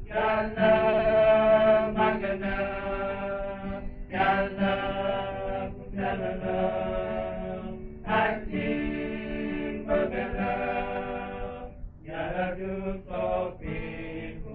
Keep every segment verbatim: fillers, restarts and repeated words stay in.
yàlla màgg na yàlla sell na aji bëgg na yàlla du soppiku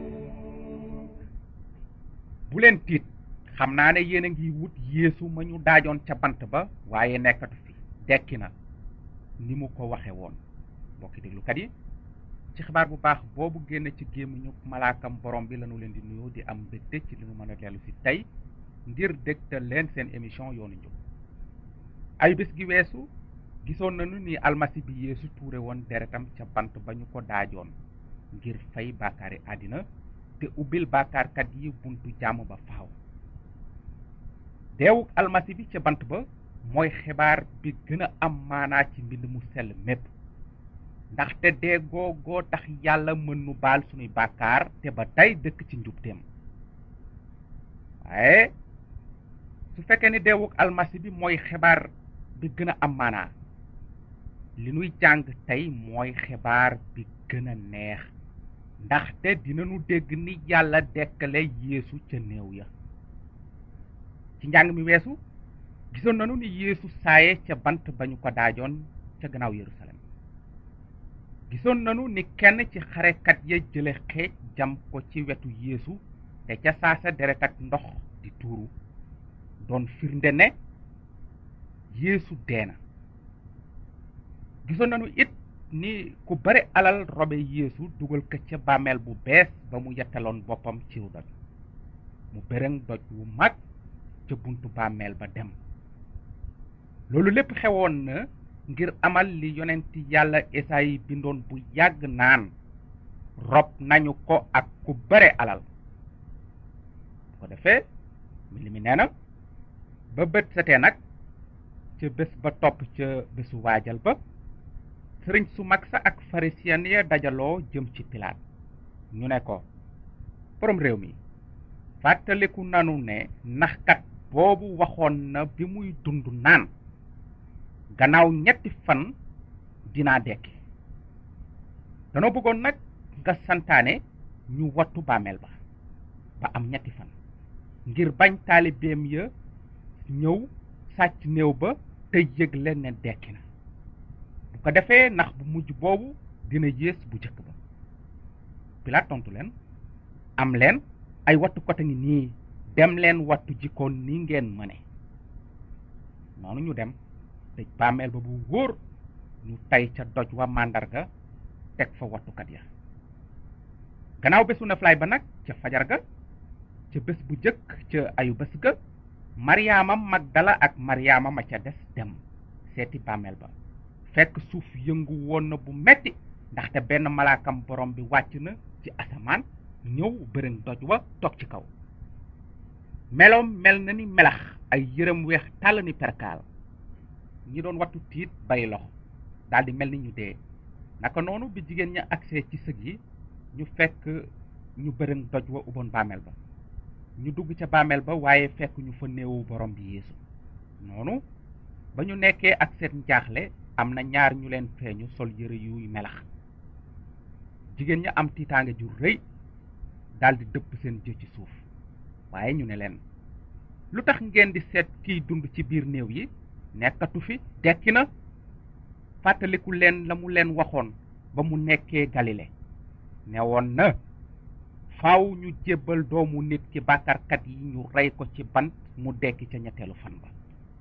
bu leen tiit xam naa ne yéen a ngi wut Yeesu ma ñu daajoon ca bant ba waaye nekkatu fi dekki na ni mu ko waxe woon mbokki déglukat yi ci xibaar bu baax boobu génn ci gémmiñu malaakam borom bi lañu leen di nuyoo di am mbégte ci li nu mën a dellu si tey ngir dégtal leen seen émission yoonu njub ay bés gi weesu gisoon nañu ni almasi bi Yeesu tuure woon deretam ca bant ba ñu ko daajoon ngir fay bàkkaari àddina te ubbil bàkkaarkat yi buntu jàmm ba faaw deewuk almasi bi ca bant ba mooy xibaar bi gën a am maanaa ci mbind mu sell mépp ndaxte dee googoo tax yàlla mën nu baal sunuy bàkkaar te ba tey dëkk ci njubteem waaye su fekkee ni deewuk almasi bi mooy xibaar bi gën a am maanaa li nuy jàng tey mooy xibaar bi gën a neex ndaxte dinañu dégg ni yàlla dekkale Yeesu ca néew ya ci njàng mi weesu gisoon nañu ni Yeesu saaye ca bant ba ñu ko daajoon ca gannaaw Yerusalem gisoon nañu ni kenn ci xarekat ya jële xeej jam ko ci wetu Yeesu te ca saasa deret ak ndox di tuuru doon firnde ne Yeesu dee na gisoon nañu it ni ku bare alal robe Yeesu dugal ko ca bàmmeel bu bees ba mu yettaloon boppam ciw doj mu bërëng doj wu mag ca buntu bàmmeel ba dem loolu lépp xewoon na ngir amal li yonenti yàlla Esayi bindoon bu yàgg naan rob nañu ko ak ku bare alal bu ko defee mi li mi nee na ba bët setee nag ca bés ba topp ca bésu waajal ba sëriñ su mag sa ak farisiyen ya dajaloo jëm ci Pilaat ñu ne ko borom réew mi fàttaliku nanu ne naxkat boobu waxoon na bi muy dund naan gannaaw ñetti fan dinaa dekki danoo bëggoon nag nga santaane ñu wattu bàmmeel ba ba am ñetti fan ngir bañ taalibeem ya ñëw sàcc néew ba te yëgle ne dekki na bu ko defee ndax bu mujj boobu dina yées bu jëkk ba Pilaat tontu leen am leen ay wattukat a ngi nii dem leen wattu jikkoon ni ngeen mëne noonu ñu dem tëj bàmmeel ba bu wóor ñu tay ca doj wa màndarga teg fa wattukat ya gannaaw bésu noflaay ba nag ca fajar ga ca bés bu jëkk ca ayu bés ga Maryaama Magdala ak Maryaama ma ca des dem seeti bàmmeel ba fekk suuf yëngu woon na bu metti ndaxte benn malaakam borom bi wàcc na ci asamaan ñëw bërëng doj wa toog ci kaw meloom mel na ni melax ay yërëm weex tàll ni perkaal ñi doon wattu tiit bay loxo daldi mel ni ñu dee naka noonu bi jigéen ña agsee ci sëg yi ñu fekk ñu bërëng doj wa uboon bàmmeel ba ñu dugg ca bàmmeel ba waaye fekk ñu fa néewu borom bi Yeesu noonu ba ñu nekkee ak seen njaaxle am na ñaar ñu leen feeñu sol yëre yuy melax jigéen ña am tiitaange ju rëy daldi dëpp seen jë ci suuf waaye ñu ne leen lu tax ngeen di seet kiy dund ci biir néew yi nekkatu fi dekki na fàttaliku leen la mu leen waxoon ba mu nekkee Galile ne woon na faaw ñu jébbal doomu nit ki bàkkaarkat yi ñu rey ko ci bant mu dekki ca ñetteelu fan ba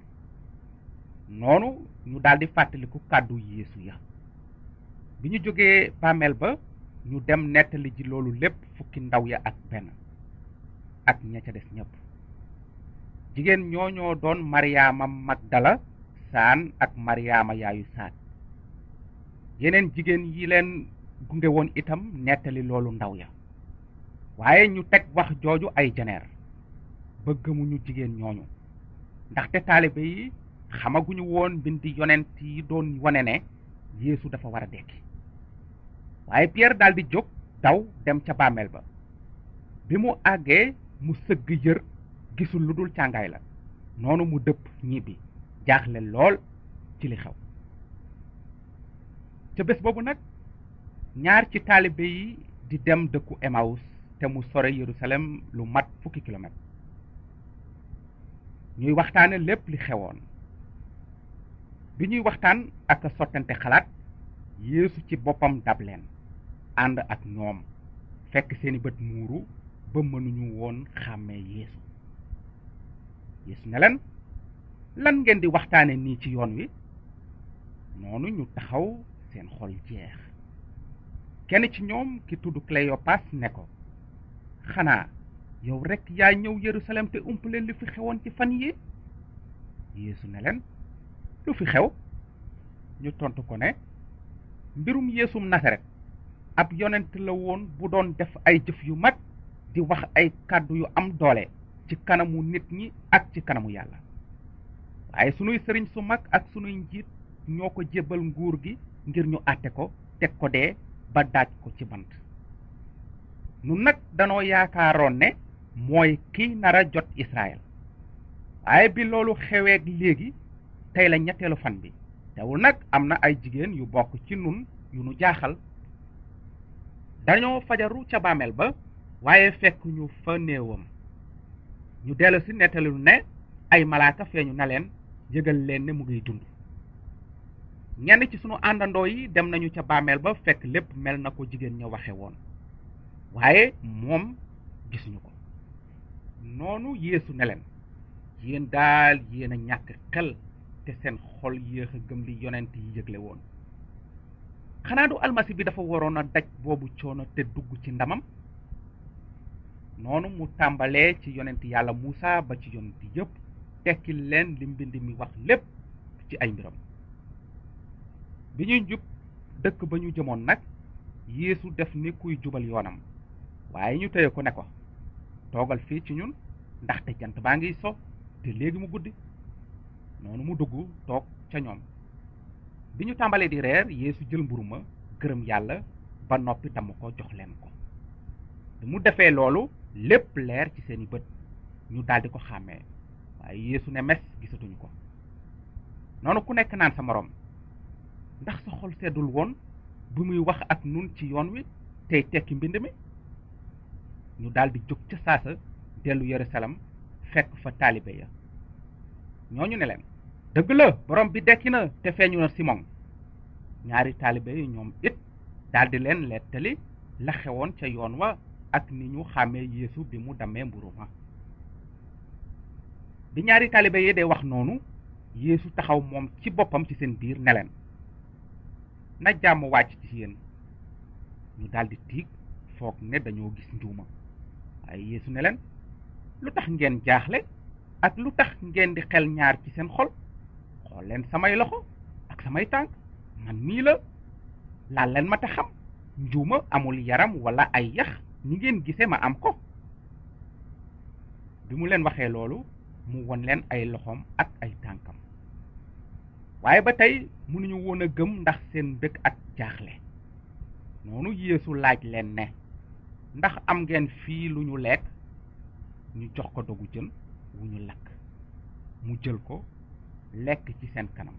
noonu ñu daldi fàttaliku kàddu Yeesu ya bi ñu jógee bàmmeel ba ñu dem nettali ji loolu lépp fukki ndaw ya ak benn ak ña ca des ñépp jigéen ñooñoo doon Maryaama Magdala saan ak Maryaama yaayu saat yeneen jigéen yi leen gunge woon itam nettali loolu ndaw ya waaye ñu teg wax jooju ay jeneer ba gëmuñu jigéen ñooñu ndaxte taalibe yi xamaguñu woon bindi yonent yi doon wane ne Yeesu dafa war a dekki waaye Pierre daldi jóg daw dem ca bàmmeel ba bi mu àggee mu sëgg yër gisul lu dul càngaay la noonu mu dëpp ñibbi jaaxle lool ci li xew ca bés boobu nag ñaar ci taalibe yi di dem dëkku Emmaüs te mu sore Yerusalem lu mat fukki kilomètre ñuy waxtaane lépp li xewoon bi ñuy waxtaan ak sottante xalaat Yeesu ci boppam dab leen ànd ak ñoom fekk seeni bët muuru ba mënuñu woon xàmmee Yeesu Yeesu ne leen lan ngeen di waxtaane nii ci yoon wi noonu ñu taxaw seen xol jeex kenn ci ñoom ki tudd Cléopas ne ko xanaa yow rekk yaa ñëw Yerusalem te umpale li fi xewoon ci fan yi Yeesu ne leen lu fi xew ñu tontu ko ne mbirum Yeesum Nasaret ab yonent la woon bu doon def ay jëf yu mag di wax ay kàddu yu am doole ci kanamu nit ñi ak ci kanamu yàlla waaye sunuy sëriñ su mag ak sunuy njiit ñoo ko jébbal nguur gi ngir ñu àtte ko teg ko dee ba daaj ko ci bant nun nag danoo yaakaaroon ne mooy kiy nara jot Israël waaye bi loolu xeweeg léegi tey la ñetteelu fan bi teewul nag am na ay jigéen yu bokk ci nun yu nu jaaxal dañoo fajaru ca bàmmeel ba waaye fekk ñu fa néewam ñu dellu si nettalilu ne ay malaaka feeñu na leen yëgal leen ne mu ngiy dund ñenn ci sunu àndandoo yi dem nañu ca bàmmeel ba fekk lépp mel na ko jigéen ña waxe woon waaye moom gisuñu ko noonu Yeesu ne leen yéen daal yéen a ñàkk xel te seen xol yéex a gëm li yonent yi yëgle woon xanaa du almasi bi dafa waroon a daj boobu coono te dugg ci ndamam noonu mu tàmbalee ci yonent yàlla Muusa ba ci yonent yépp tekki leen li mbind mi wax lépp ci ay mbiram bi ñuy jub dëkk ba ñu jëmoon nag Yeesu def ni kuy jubal yoonam waaye ñu téye ko ne ko toogal fii ci ñun ndaxte jant baa ngiy so te léegi mu guddi noonu mu dugg toog ca ñoom bi ñu tàmbalee di reer Yeesu jël mburu ma gërëm yàlla ba noppi damm ko jox leen ko bi mu defee loolu lépp leer ci seeni bët ñu daldi ko xàmmee waaye Yeesu ne mes gisatuñu ko noonu ku nekk naan sa moroom ndax sa xol seddul woon bi muy wax ak nun ci yoon wi tey tekki mbind mi ñu daldi jóg ca saasa dellu Yerusalem fekk fa taalibe ya ñooñu ne leen dëgg la borom bi dekki na te feeñu na Simon ñaari taalibe yi ñoom it daldi leen lettali la xewoon ca yoon wa ak ni ñu xàmmee Yeesu bi mu dammee mburu ma bi ñaari taalibe yi dee wax noonu Yeesu taxaw moom ci boppam ci seen biir ne leen na jàmm wàcc ci yéen ñu daldi tiig foog ne dañoo gis njuuma waaye Yeesu ne leen lu tax ngeen jaaxle ak lu tax ngeen di xel ñaar ci seen xol xool leen samay loxo ak samay tànk man mii la laal leen ma te xam njuuma amul yaram wala ay yax ni ngeen gisee ma am ko bi mu leen waxee loolu mu won leen ay loxoom ak ay tànkam waaye ba tey mënuñu woon a gëm ndax seen mbëgg ak jaaxle noonu Yeesu laaj leen ne ndax am ngeen fii lu ñu lekk ñu jox ko dogu jën wu ñu lakk mu jël ko lekk ci seen kanam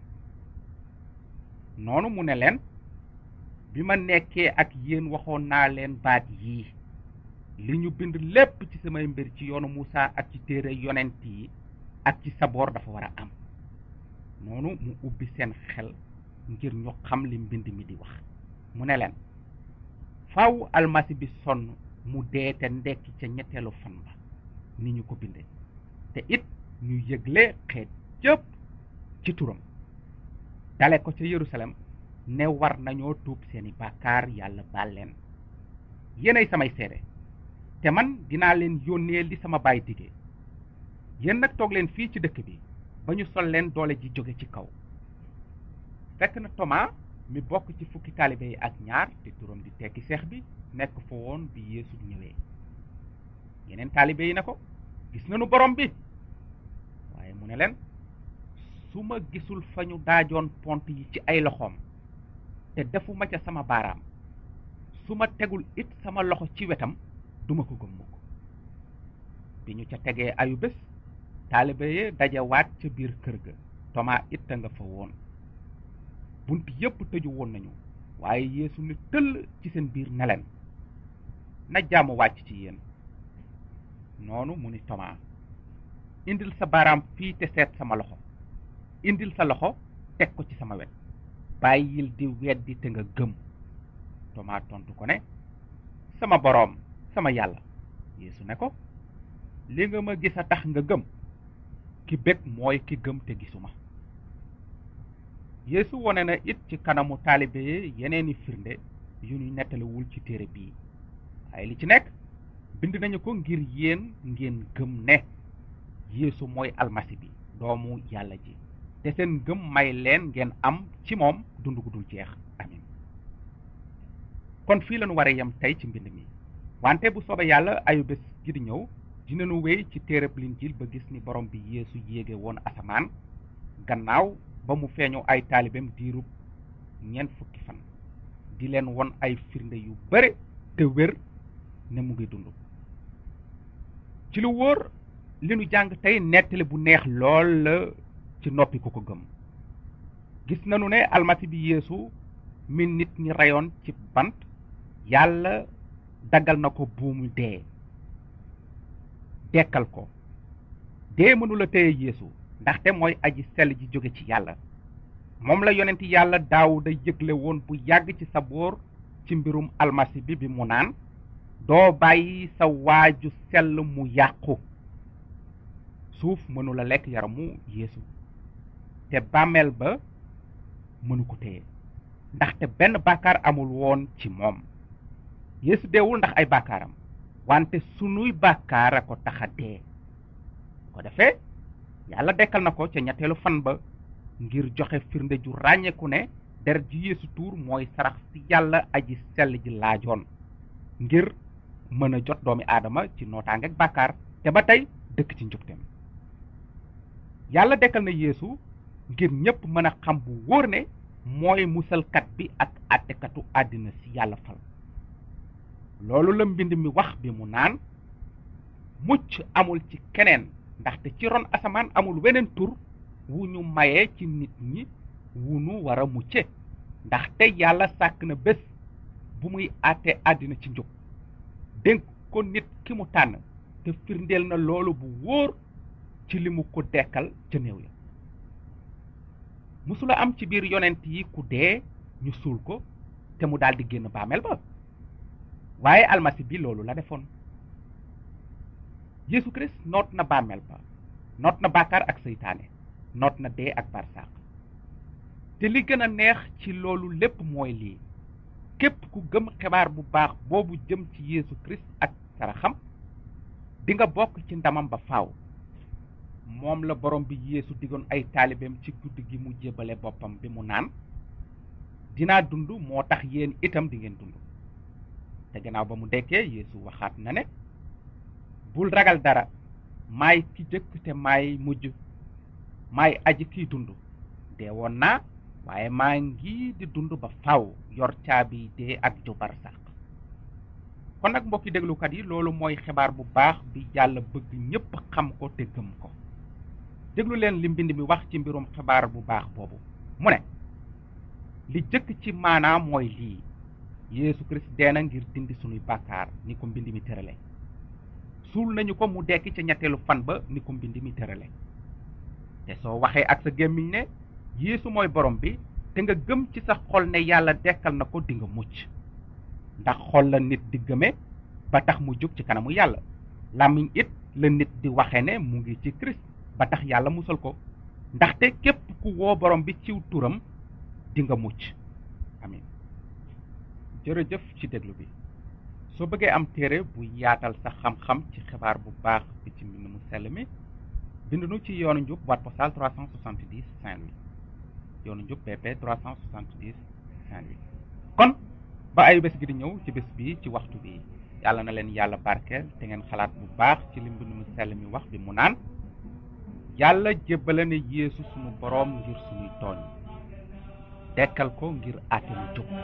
noonu mu ne leen bi ma nekkee ak yéen waxoon naa leen baat yii li ñu bind lépp ci samay mbir ci yoonu Muusa ak ci téere yonent yi ak ci saboor dafa war a am noonu mu ubbi seen xel ngir ñu xam li mbind mi di wax mu ne leen faaw almasi bi sonn mu dee te ndekki ca ñetteelu fan ba ni ñu ko bindee te it ñu yëgle xeet yépp ci turam dale ko ca Yerusalem ne war nañoo tuub seeni bàkkaar yàlla baal leen yéenay samay seede te man dinaa leen yónnee li sama baay digee yéen nag toog leen fii ci dëkk bi ba ñu sol leen doole ji jóge ci kaw fekk na Thomas mi bokk ci fukki taalibe yi ak ñaar te turam di tekki seex bi nekk fa woon bi Yeesu ñëwee yeneen taalibe yi ne ko gis nañu borom bi waaye mu ne leen su ma gisul fa ñu daajoon pont yi ci ay loxoom te defuma ca sama baaraam su ma tegul it sama loxo ci wetam duma ko gëm mukk bi ñu ca tegee ayu bés taalibe yi dajewaat ca biir kër ga Thomas it a nga fa woon bunt yépp tëju woon nañu waaye Yeesu ni tëll ci seen biir ne leen na jàmm wàcc ci yéen. noonu mu ni Thomas, indil sa baaraam fii te seet sama loxo, indil sa loxo teg ko ci sama wet, bàyyil di weddi te nga gëm. Thomas tontu ko ne, sama boroom, sama yàlla. Yeesu ne ko, li nga ma gis a tax nga gëm, ki bég mooy ki gëm te gisuma. Yeesu wone na it ci kanamu taalibe yi yeneeni firnde yu ñu nettalewul ci téere bii, waaye li ci nekk bind nañu ko ngir yéen ngeen gëm ne Yeesu mooy almasi bi, doomu yàlla ji, te seen gëm may leen ngeen am ci moom dund gu dul jeex. amin. kon fii lañu war a yem tey ci mbind mi, wante bu soobee yàlla ayu bés gi di ñëw dinañu wéy ci téereb Linjiil ba gis ni borom bi Yeesu yéege woon asamaan gannaaw ba mu feeñu ay taalibeem diirub ñeent fukki fan, di leen won ay firnde yu bare te wér ne mu ngi dund. ci lu wóor li nu jàng tey nettali bu neex lool la ci noppi ku ko gëm. gis nanu ne almasi bi Yeesu mi nit ñi reyoon ci bant, yàlla daggal na ko buumu dee, dekkal ko. dee mënula téye Yeesu, ndaxte mooy aji sell ji jóge ci yàlla. moom la yonenti yàlla Daawuda yëgle woon bu yàgg ci Saboor ci mbirum almasi bi bi mu naan, doo bàyyi sa waaju sell mu yàqu. suuf mënula lekk yaramu Yeesu, te bàmmeel ba mënu ko téye, ndaxte benn bàkkaar amul woon ci moom. Yeesu deewul ndax ay bàkkaaram, wante sunuy bàkkaar a ko tax a dee. ko defee yàlla dekkal na ko ca ñetteelu fan ba ngir joxe firnde ju ràññeeku ne deret ji Yeesu tuur mooy sarax si yàlla aji sell ji laajoon ngir mën a jot doomi aadama ci nootaange ak bàkkaar te ba tey dëkk ci njubteem. yàlla dekkal na Yeesu ngir ñépp mën a xam bu wóor ne mooy musalkat bi ak àttekatu àddina si yàlla fal. loolu la mbind mi wax bi mu naan, mucc amul ci keneen, ndaxte ci ron asamaan amul weneen tur wu ñu mayee ci nit ñi wu nu war a mucce. ndaxte yàlla sàkk na bés bu muy àtte àddina ci njub, dénk ko nit ki mu tànn, te firndeel na loolu bu wóor ci li mu ko dekkal ca néew ya. musula am ci biir yonent yi ku dee ñu suul ko te mu daldi génn bàmmeel ba, waaye almasi bi loolu la defoon. Yeesu Kirist noot na bàmmeel ba, noot na bàkkaar ak seytaane, noot na dee ak barsàq. te li gën a neex ci loolu lépp mooy lii, képp ku gëm xibaar bu baax boobu jëm ci Yeesu Kirist ak saraxam, di nga bokk ci ndamam ba faaw. moom la borom bi Yeesu digoon ay taalibeem ci guddi gi mu jébbale boppam bi mu naan, dinaa dund moo tax yéen itam di ngeen dund. te gannaaw ba mu dekkee Yeesu waxaat na ne, bul ragal dara, maay ki jëkk te maay mujj, maay aji kiy dund. dee woon naa waaye maa ngi di dund ba faaw, yor caabi dee ak ju barsàq. kon nag mbokki déglukat yi, loolu mooy xibaar bu baax bi yàlla bëgg ñépp xam ko te gëm ko. déglu leen li mbind mi wax ci mbirum xibaar bu baax boobu. mu ne, li jëkk ci maanaam mooy lii, Yeesu Kirist dee na ngir dindi sunuy bàkkaar ni ko mbind mi tërale. suul nañu ko mu dekki ca ñetteelu fan ba ni ko mbind mi tërale. te soo waxee ak sa gémmiñ ne Yeesu mooy borom bi, te nga gëm ci sa xol ne yàlla dekkal na ko, di nga mucc. ndax xol la nit di gëme ba tax mu jóg ci kanamu yàlla, làmmiñ it la nit di waxe ne mu ngi ci Kirist ba tax yàlla musal ko. ndaxte képp ku woo borom bi ciw turam di nga mucc. amin. jërëjëf ci déglu bi. soo bëggee am téere bu yaatal sa xam-xam ci xibaar bu baax bi ci mbind mu sell mi, bind nu ci yoonu njub boîte postale trois cent soixante-dix Saint-Louis, yoonu njub B P trois cent soixante-dix Saint-Louis. kon ba ayu bés gi di ñëw ci bés bi ci waxtu bi, yàlla na leen yàlla barkeel te ngeen xalaat bu baax ci li mbind mu sell mi wax bi mu naan, yàlla jébbale ne Yeesu sunu boroom ngir sunuy tooñ, dekkal ko ngir àtte lu jub.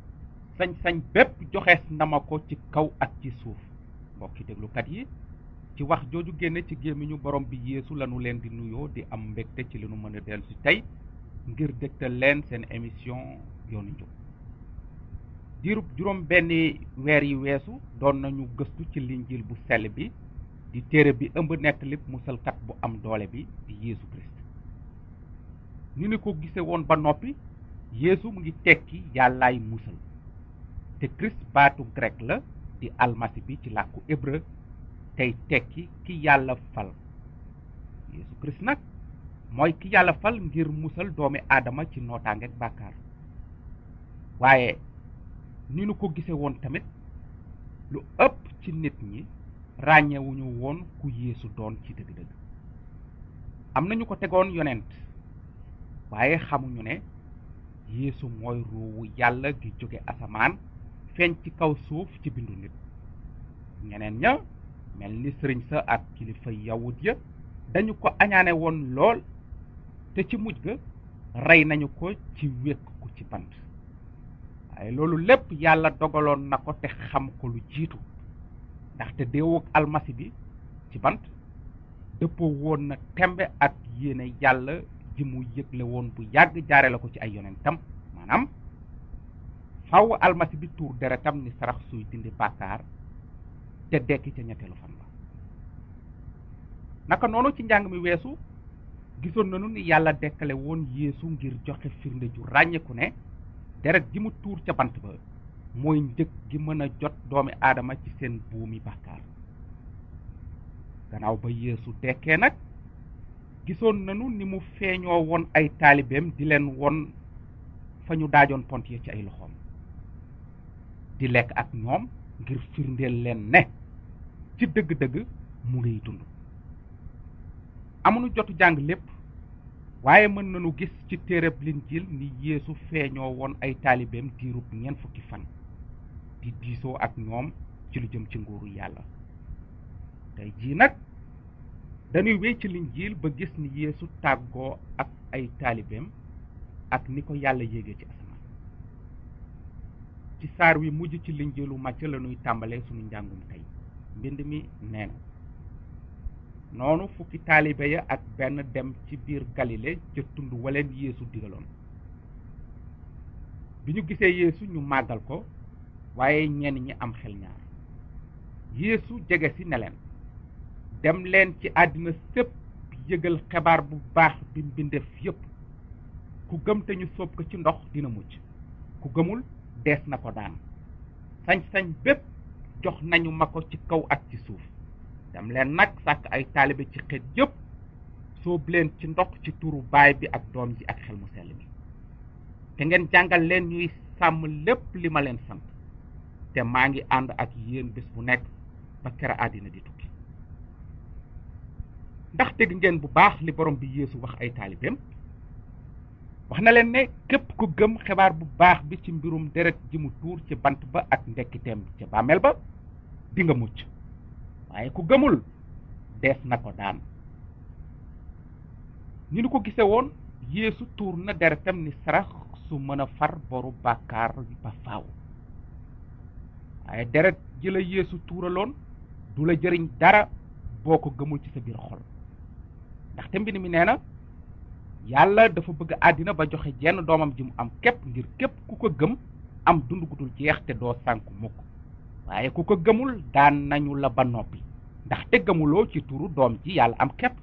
sañ-sañ bépp joxees na ma ko ci kaw ak ci suuf. mbokki déglukat yi, ci wax jooju génne ci gémmiñu borom bi Yeesu lanu leen di nuyoo di am mbégte ci li nu mën a dellu si tey ngir dégtal leen seen émission yoonu njub. diirub juróom benni weer yi weesu doon nañu gëstu ci linjiil bu sell bi di téere bi ëmb nettalib musalkat bu am doole bi di Yeesu Christ. ñu ni ko gise woon ba noppi Yeesu mu ngi tekki yàllaay musal te Christ baatu grec la di almasi bi ci làkku hébreu tey tekki ki yàlla fal. Yeesu Christ nag mooy ki yàlla fal ngir musal doomi aadama ci nootaange ak bàkkaar. waaye ni nu ko gise woon tamit lu ëpp ci nit ñi ràññewuñu woon ku Yeesu doon ci dëgg-dëgg. am nañu ko tegoon yonent waaye xamuñu ne Yeesu mooy ruuwu yàlla gi jóge asamaan feeñ ci kaw suuf ci bindu nit. ñeneen ña mel ni sëriñ sa ak kilifa yawut ya dañu ko añaane woon lool te ci mujj ga rey nañu ko ci wékk ko ci bant. waaye loolu lépp yàlla dogaloon na ko te xam ko lu jiitu ndaxte deewuk almasi bi ci bant dëppoo woon na tembe ak yéene yàlla ji mu yëgle woon bu yàgg jaare la ko ci ay yonentam. maanaam faw almasi bi tuur deretam ni sarax suy dindi bàkkaar te dekki ca ñetteelu fan ba. naka noonu ci njàng mi weesu gisoon nañu ni yàlla dekkale woon Yeesu ngir joxe firnde ju ràññeeku ne deret ji mu tuur ca bant ba mooy njëg gi mën a jot doomi aadama ci seen buumi bàkkaar. gannaaw ba Yeesu dekkee nag gisoon nañu ni mu feeñoo woon ay taalibeem di leen won fa ñu daajoon pont yi ci ay loxoom di lekk ak ñoom ngir firndeel leen ne ci dëgg-dëgg mu ngiy dund. amuñu jotu jàng lépp waaye mën nañu gis ci téereb Linjiil ni Yeesu feeñoo woon ay taalibeem diirub ñeent fukki fan di diisoo ak ñoom ci lu jëm ci nguuru yàlla. tey jii nag dañuy wéy ci Linjiil ba gis ni Yeesu tàggoo ak ay taalibeem ak ni ko yàlla yéegee ci asamaan. ci saar wi mujj ci Linjiilu Màcc la ñuy tàmbalee sunu njàngum tey. mbind mi nee na noonu fukki taalibe ya ak benn dem ci biir Galile ca tund waleen Yeesu digaloon. bi ñu gisee Yeesu ñu màggal ko waaye ñenn ñi am xel ñaar. Yeesu jege si ne leen dem leen ci àddina sépp yëgal xibaar bu baax bi mbindeef yépp. ku gëm te ñu sóob ko ci ndox dina mucc, ku gëmul dees na ko daan. sañ-sañ bépp jox nañu ma ko ci kaw ak ci suuf. dem leen nag sàkk ay taalibe ci xeet yépp sóob leen ci ndox ci turu baay bi ak doom ji ak xel mu sell mi te ngeen jàngal leen ñuy sàmm lépp li ma leen sant te maa ngi ànd ak yéen bés bu nekk ba kera àddina di tukki. ndax dégg ngeen bu baax li borom bi Yeesu wax ay taalibeem. wax na leen ne képp ku gëm xibaar bu baax bi ci mbirum deret ji mu tuur ci bant ba ak ndekkiteem ca bàmmeel ba di nga mucc, waaye ku gëmul dees na ko daan. ni nu ko gise woon Yeesu tuur na deretam ni sarax su mën a far boru bàkkaar ba faaw. waaye deret ji la Yeesu tuuraloon du la jëriñ dara boo ko gëmul ci sa biir xol, ndaxte mbind mi nee na yàlla dafa bëgg àddina ba joxe jenn doomam ji mu am képp ngir képp ku ko gëm am dund gu dul jeex te doo sànku mukk. waaye ku ko gëmul daan nañu la ba noppi ndaxte gëmuloo ci turu doom ji yàlla am képp.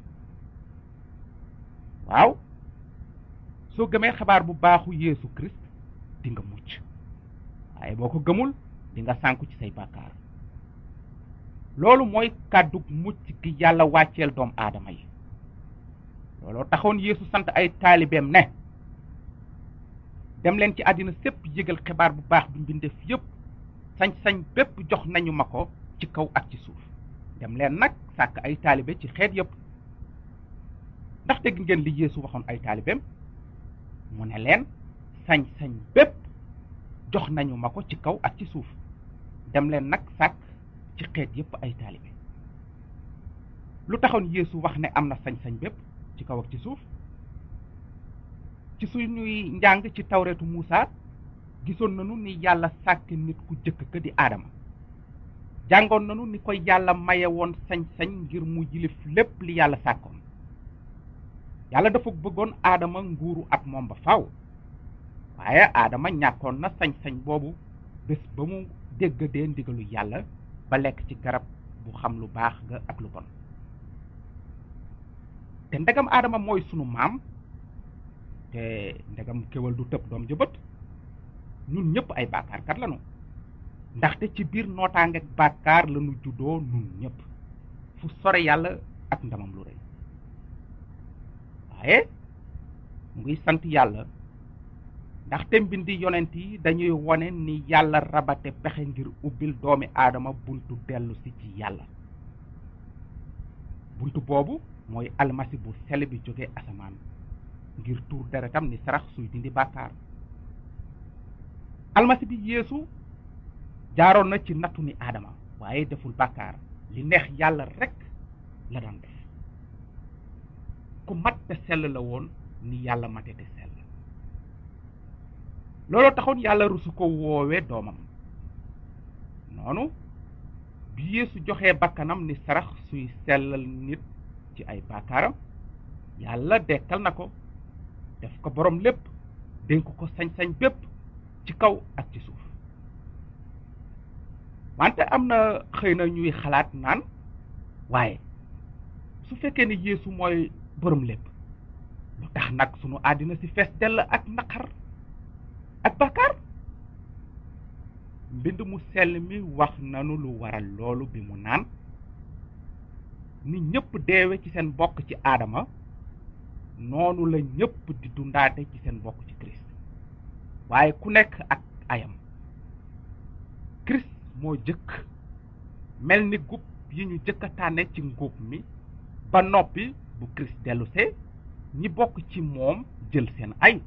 waaw soo gëmee xabaar bu baaxu Yeesu Christ di nga mucc, waaye boo ko gëmul di nga sànku ci say bàkkaar. loolu mooy kàddug mucc gi yàlla wàcceel doom aadama yi. looloo taxoon Yeesu sant ay taalibeem ne dem leen ci àddina sépp yëgal xibaar bu baax bi mbindeef yépp. sañ-sañ bépp jox nañu ma ko ci kaw ak ci suuf. dem leen nag sàkk ay taalibe ci xeet yépp. ndax dégg ngeen li Yeesu waxoon ay taalibeem mu ne leen sañ-sañ bépp jox nañu ma ko ci kaw ak ci suuf. dem leen nag sàkk ci xeet yépp ay taalibe. lu taxoon Yeesu wax ne am na sañ-sañ bépp ci kaw ak ci suuf? ci suñuy njàng ci tawreetu Muusaa gisoon nañu ni yàlla sàkk nit ku jëkk ka di Aadama jàngoon nanu ni koy yàlla maye woon sañ-sañ ngir mu yilif lépp li yàlla sàkkoon. yàlla dafa bëggoon aadama nguuru ak moom ba faaw, waaye aadama ñàkkoon na sañ-sañ boobu bés ba mu déggadee ndigalu yàlla ba lekk ci garab bu xam lu baax ga ak lu bon. te ndegam aadama mooy sunu maam, te ndegam kéwal du tëb doom jëbët, ñun ñëpp ay bàkkaarkat lañu, ndaxte ci biir nootaangeeg bàkkaar lañu juddoo ñun ñëpp fu sore yàlla ak ndamam lu rëy. waaye mu ngi sant yàlla ndaxte mbindi yonent yi dañuy wone ni yàlla rabate pexe ngir ubbil doomi aadama buntu dellu si ci yàlla. buntu boobu mooy almasi bu sell bi jóge asamaan ngir tuur deretam ni sarax suy dindi bàkkaar. almasi bi yeesu jaaroon na ci nattu ni aadama, waaye deful bàkkaar, li neex yàlla rekk la daan def. ku mat te sell la woon ni yàlla mate te sell. looloo taxoon yàlla rusu ko woowe doomam. noonu bi yeesu joxee bakkanam ni sarax suy sellal nit ci ay bàkkaaram, yàlla dekkal na ko, def ko borom lépp, dénk ko sañ-sañ bépp ci kaw ak ci suuf. wante am na xëy na ñuy xalaat naan, waaye su fekkee ni yeesu mooy borom lépp, lu tax nag sunu àddina si fees dell ak naqar ak bàkkaar? mbind mu sell mi wax nanu lu waral loolu bi mu naan, ni ñëpp deewe ci seen bokk ci aadama, noonu la ñëpp di dundaate ci seen bokk ci Christ, waaye ku nekk ak ayam. Christ moo jëkk mel ni gub yi ñu jëkk a tànne ci ngóob mi, ba noppi bu Christ dellusee ñi bokk ci moom jël seen ay.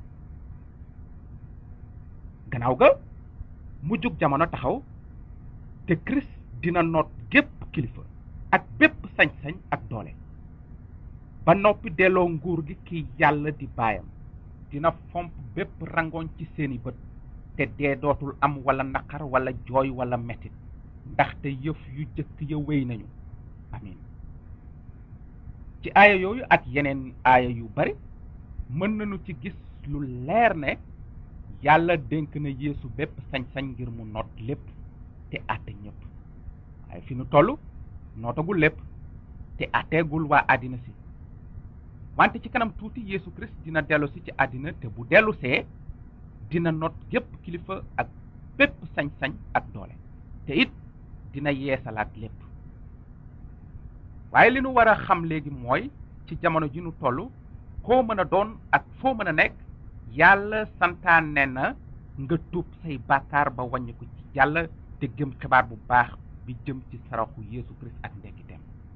gannaaw ga mujjug jamono taxaw, te Christ dina noot gépp kilifa ak bépp sañ-sañ ak doole, ba noppi delloo nguur gi ki yàlla di baayam. dina fomp bépp rangoñ ci seeni bët, te dee dootul am wala naqar wala jooy wala metit, ndaxte yëf yu jëkk ya wéy nañu. amin. ci aaya yooyu ak yeneen aaya yu bari mën nañu ci gis lu leer ne yàlla dénk na yeesu bépp sañ-sañ ngir mu noot lépp te àtte ñëpp. waaye fi nu toll nootagul lépp te àtteegul waa àddina si, wante ci kanam tuuti yeesu Christ dina dellu si ci àddina, te bu dellu see dina noot yépp kilifa ak bépp sañ-sañ ak doole, te it dina yeesalaat lépp. waaye li nu war a xam léegi mooy ci jamono ji nu toll, koo mën a doon ak foo mën a nekk, yàlla santaane na nga tuub say bàkkaar ba wàññi ko ci yàlla te gëm xibaar bu baax bi jëm ci saraxu yeesu Christ ak ndekkiteem.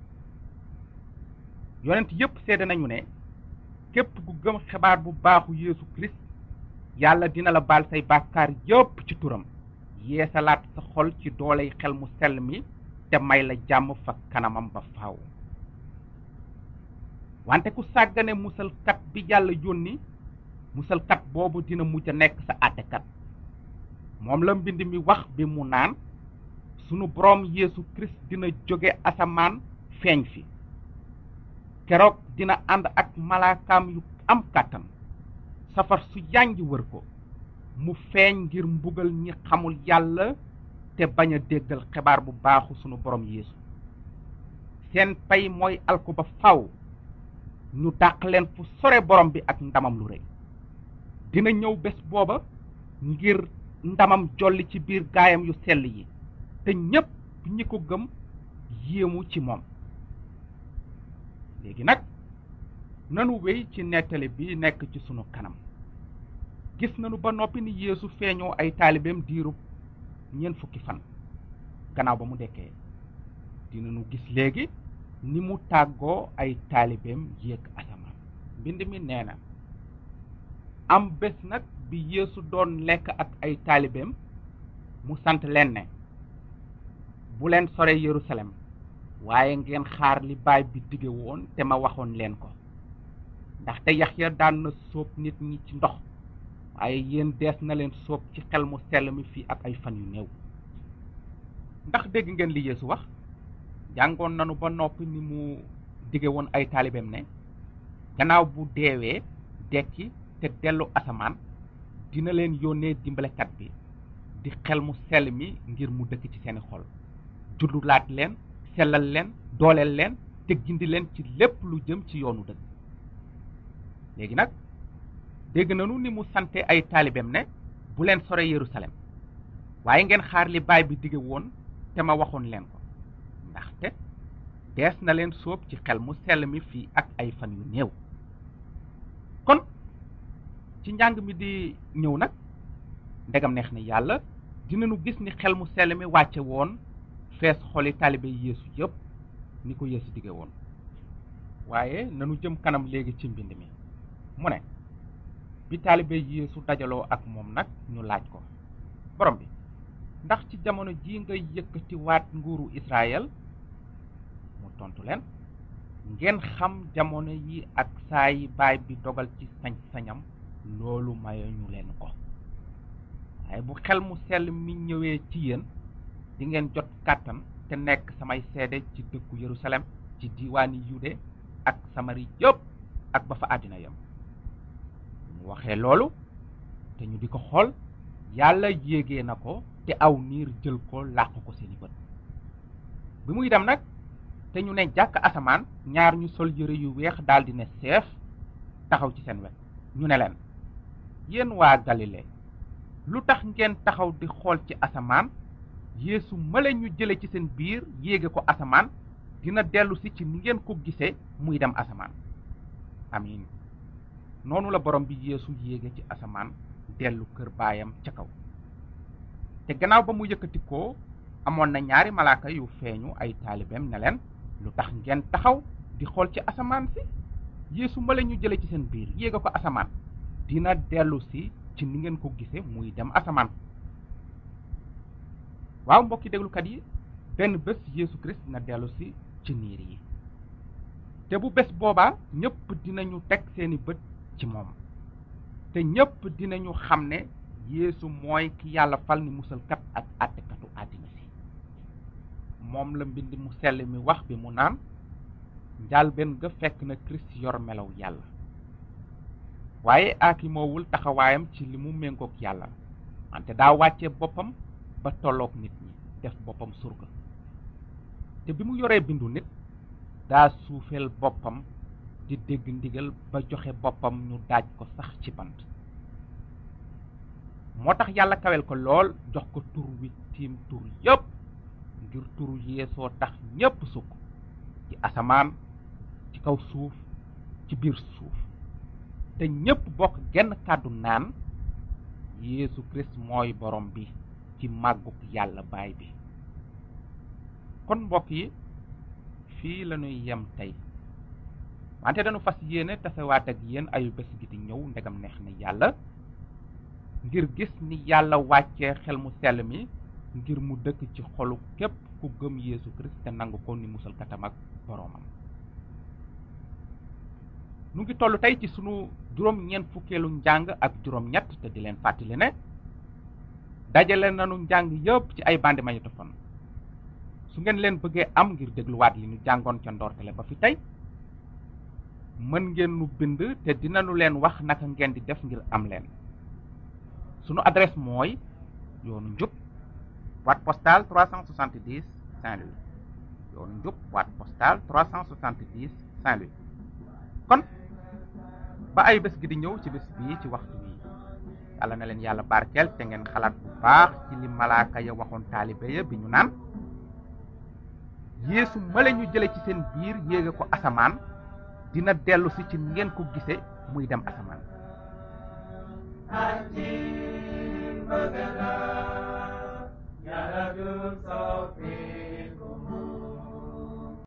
yonent yépp seede nañu ne képp ku gëm xibaar bu baaxu yeesu Christ, yàlla dina la baal say bàkkaar yépp ci turam, yeesalaat sa xol ci dooley xel mu sell mi, te may la jàmm fa kanamam ba faaw. wante ku sàggane musalkat bi yàlla yónni, musalkat boobu dina mujj a nekk sa àttekat. moom la mbind mi wax bi mu naan, sunu boroom yeesu Christ dina jóge asamaan feeñ fi. keroog dina ànd ak malaakaam yu am kàttan, safar su yànj wër ko, mu feeñ ngir mbugal ñi xamul yàlla te bañ a déggal xibaar bu baaxu sunu borom yeesu. seen pay mooy alku ba faw, ñu dàq leen fu sore borom bi ak ndamam lu rëy. dina ñëw bés booba ngir ndamam jolli ci biir gaayam yu sell yi, te ñépp ñi ko gëm yéemu ci moom. léegi nag nanu wéy ci nettali bi nekk ci sunu kanam. gis nanu ba noppi ni yeesu feeñoo ay taalibeem diirub ñeent fukki fan gannaaw ba mu dekkee. dinanu gis léegi ni mu tàggoo ay taalibeem yéeg asamaan. mbind mi nee na, am bés nag bi yeesu doon lekk ak ay taalibeem, mu sant leen ne, bu leen sore Yerusalem, waaye ngeen xaar li baay bi dige woon te ma waxoon leen ko. ndaxte Yaxya daan na sóob nit ñi ci ndox, waaye yéen dees na leen sóob ci xel mu sell mi fii ak ay fan yu néew. ndax dégg ngeen li Yeesu wax jàngoon nanu ba noppi ni mu dige woon ay taalibeem ne gannaaw bu deewee dekki te dellu asamaan dina leen yónnee dimbalekat bi di xel mu sell mi ngir mu dëkk ci seeni xol juddulaat leen sellal leen dooleel leen te gindi leen ci lépp lu jëm ci yoonu dëgg. léegi nag dégg nanu ni mu sante ay taalibeem ne bu leen sore Yerusalem waaye ngeen xaar li baay bi dige woon te ma waxoon leen ko ndaxte dees na leen sóob ci xel mu sell mi fii ak ay fan yu néew. kon ci njàng mi di ñëw nag ndegam neex na yàlla dinañu gis ni xel mu sell mi wàcce woon fees xoli taalibe Yeesu yëpp ni ko Yeesu dige woon. waaye nanu jëm kanam léegi ci mbind mi mu ne bi taalibe Yeesu dajaloo ak moom nag ñu laaj ko borom bi ndax ci jamono ji nga yëkkati waat nguuru Israël mu tontu leen ngeen xam jamono yi ak saa yi baay bi dogal ci sañ-sañam loolu maye ñu leen ko waaye bu xel mu sell mi ñëwee ci yéen di ngeen jot kàttan te nekk samay seede ci dëkku Yerusalem ci diiwaani Yude ak Samari yëpp ak ba fa àddina yam mu waxee loolu te ñu di ko xool yàlla yéegee na ko te aw niir jël ko làq ko seeni bët bi muy dem nag te ñu ne jàkk asamaan ñaar ñu sol yëre yu weex daldi ne seef taxaw ci seen wet ñu ne leen yéen waa Galile lu tax ngeen taxaw di xool ci asamaan Yeesu male ñu jële ci seen biir yéege ko asamaan dina dellu si ci ni ngeen ko gisee muy dem asamaan. amiin noonu la borom bi Yeesu yéege ci asamaan dellu kër baayam ca kaw. te gannaaw ba mu yëkkati ko amoon na ñaari malaaka yu feeñu ay taalibeem ne leen lu tax ngeen taxaw di xool ci asamaan si Yeesu male ñu jële ci seen biir yéege ko asamaan dina dellu si ci ni ngeen ko gisee muy dem asamaan. waaw mbokki déglukat yi benn bés Yeesu Christ na dellu si ci niir yi te bu bés boobaa ñëpp dinañu teg seeni bët ci moom te ñëpp dinañu xam ne Yeesu mooy ki yàlla fal ni musalkat ak àttekatu àddina si. moom la mbind mu sell mi wax bi mu naan njàlbéen ga fekk na Christ yor melaw yàlla waaye aakimoowul taxawaayam ci li mu méngoog yàlla wante daa wàcce boppam ba tolloog nit ñi def boppam surga te bi mu yoree bindu nit daa suufeel boppam di dégg ndigal ba joxe boppam ñu daaj ko sax ci bant. moo tax yàlla kawel ko lool jox ko tur wi tiim tur yépp ngir turu Yeesoo tax ñépp sukk ci asamaan ci kaw suuf ci biir suuf te ñépp bokk genn kàddu naan Yeesu Christ mooy borom bi ci màggug yàlla baay bi. kon mbokk yi fii lañuy yem tey wante dañu fas yéene tasewaat ak yéen ayu bés gi di ñëw ndegam neex na yàlla ngir gis ni yàlla wàccee xel mu sell mi ngir mu dëkk ci xolu képp ku gëm Yeesu Christ te nangu ko ni musalkatam ak boroomam. nu ngi toll tey ci sunu juróom ñeent fukkeelu njàng ak juróom ñett te di leen fàttali ne dajale nanu njàng yëpp ci ay bande magnétophone su ngeen leen bëggee am ngir dégluwaat li ñu jàngoon ca ndortele ba fi tey mën ngeen nu bind te dinañu leen wax naka ngeen di def ngir am leen. sunu adresse mooy yoonu njub boîte postale trois cent soixante-dix Saint-Louis yoonu njub boîte postale trois cent soixante-dix Saint-Louis. kon ba ay bés gi di ñëw ci bés bii ci waxtu wi yàlla na leen yàlla barkeel te ngeen xalaat bu baax ci li malaaka ya waxoon taalibe ya bi ñu naan Yeesu male ñu jële ci seen biir yéege ko asamaan dina dellu si ci ngeen ko gise muy dem asamaan. Hati bagana, ya Rasul